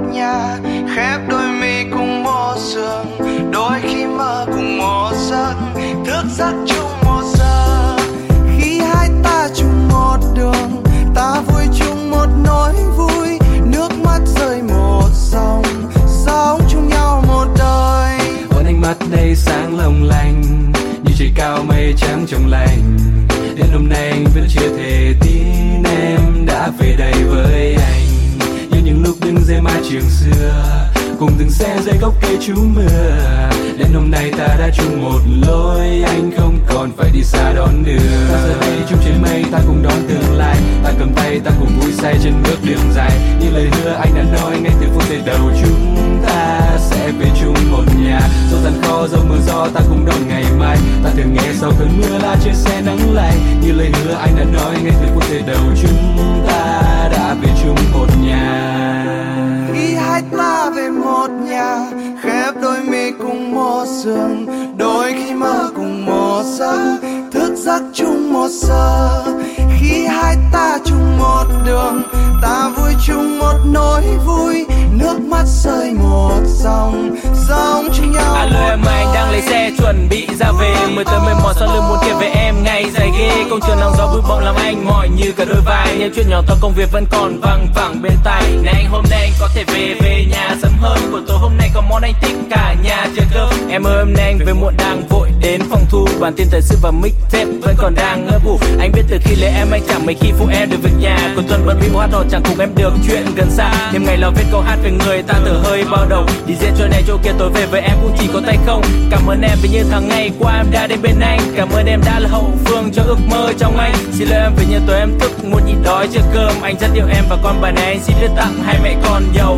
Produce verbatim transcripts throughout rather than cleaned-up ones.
nhà, khép đôi mi cùng một giường, đôi khi mơ cùng một giấc, thức giấc chung một giờ. Khi hai ta chung một đường, ta vui chung một nỗi vui, nước mắt rơi một dòng, sống chung nhau một đời. Ôn ánh mắt đây sáng long lanh, như trời cao mây trắng trong lành. Đến hôm nay anh vẫn chưa thể tin em đã về đây với anh, như những lúc đứng dưới mái trường xưa, cùng từng xe dưới gốc cây trú mưa. Đến hôm nay ta đã chung một lối, anh không còn phải đi xa đón đưa. Ta giờ đây chung trên mây, ta cùng đón tương lai, ta cầm tay, ta cùng vui say trên bước đường dài. Như lời hứa anh đã nói ngay từ phút giây đầu, chúng ta sẽ về chung một nhà. Dẫu gian khó, dẫu mưa gió, ta cùng đón ngày mai. Ta thường nghe sau cơn mưa là trên xe nắng lạnh. Như lời hứa anh đã nói ngay từ phút giây đầu, chúng ta đã về chung một nhà. Khi hai ta về một nhà, khép đôi mi cùng một giường, đôi khi mơ cùng một giấc, thức giấc chung một giờ. Khi hai ta chung một đường, ta vui chung một nỗi vui, nước mắt rơi một dòng, sống chung nhau. Alo em, anh đang lấy xe chuẩn bị ra về, mười tới mười một sau lưng muốn kể về em ngày dài ghê. Công trường nắng gió bụi bặm làm anh mỏi như cả đôi vai, những chuyện nhỏ to công việc vẫn còn văng vẳng bên tai. Này anh hôm nay anh có thể về về nhà sớm hơn, buổi tối hôm nay có món anh thích cả nhà chờ cơm. Em ơi hôm nay anh về muộn đang vội đến phòng thu, bản tin thời sự và mixtape vẫn còn đang ngỡ ngủ. Anh biết từ khi lấy em anh chẳng mấy khi phụ em được việc nhà, cuối tuần bận bịu hát hò chẳng cùng em được chuyện gần xa. Thêm ngày lo viết câu hát về người ta thở hơi bao đầu, đi diễn chỗ này chỗ kia tối về với em cũng chỉ có tay không. Cảm ơn em vì như tháng ngày qua em đã đến bên anh, cảm ơn em đã là hậu phương cho ước mơ trong anh. Xin lỗi em vì như tối em thức muốn nhịn đói chưa cơm, anh rất yêu em và con bà này anh xin viết tặng hai mẹ con giàu.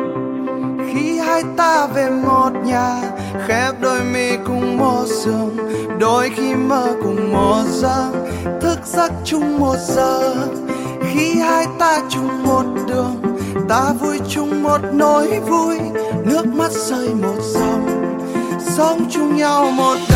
Khi hai ta về một nhà, khép đôi mi cùng một giường, đôi khi mơ cùng một giấc, thức giấc chung một giờ. Khi hai ta chung một đường, ta vui chung một nỗi vui, nước mắt rơi một dòng, sống chung nhau một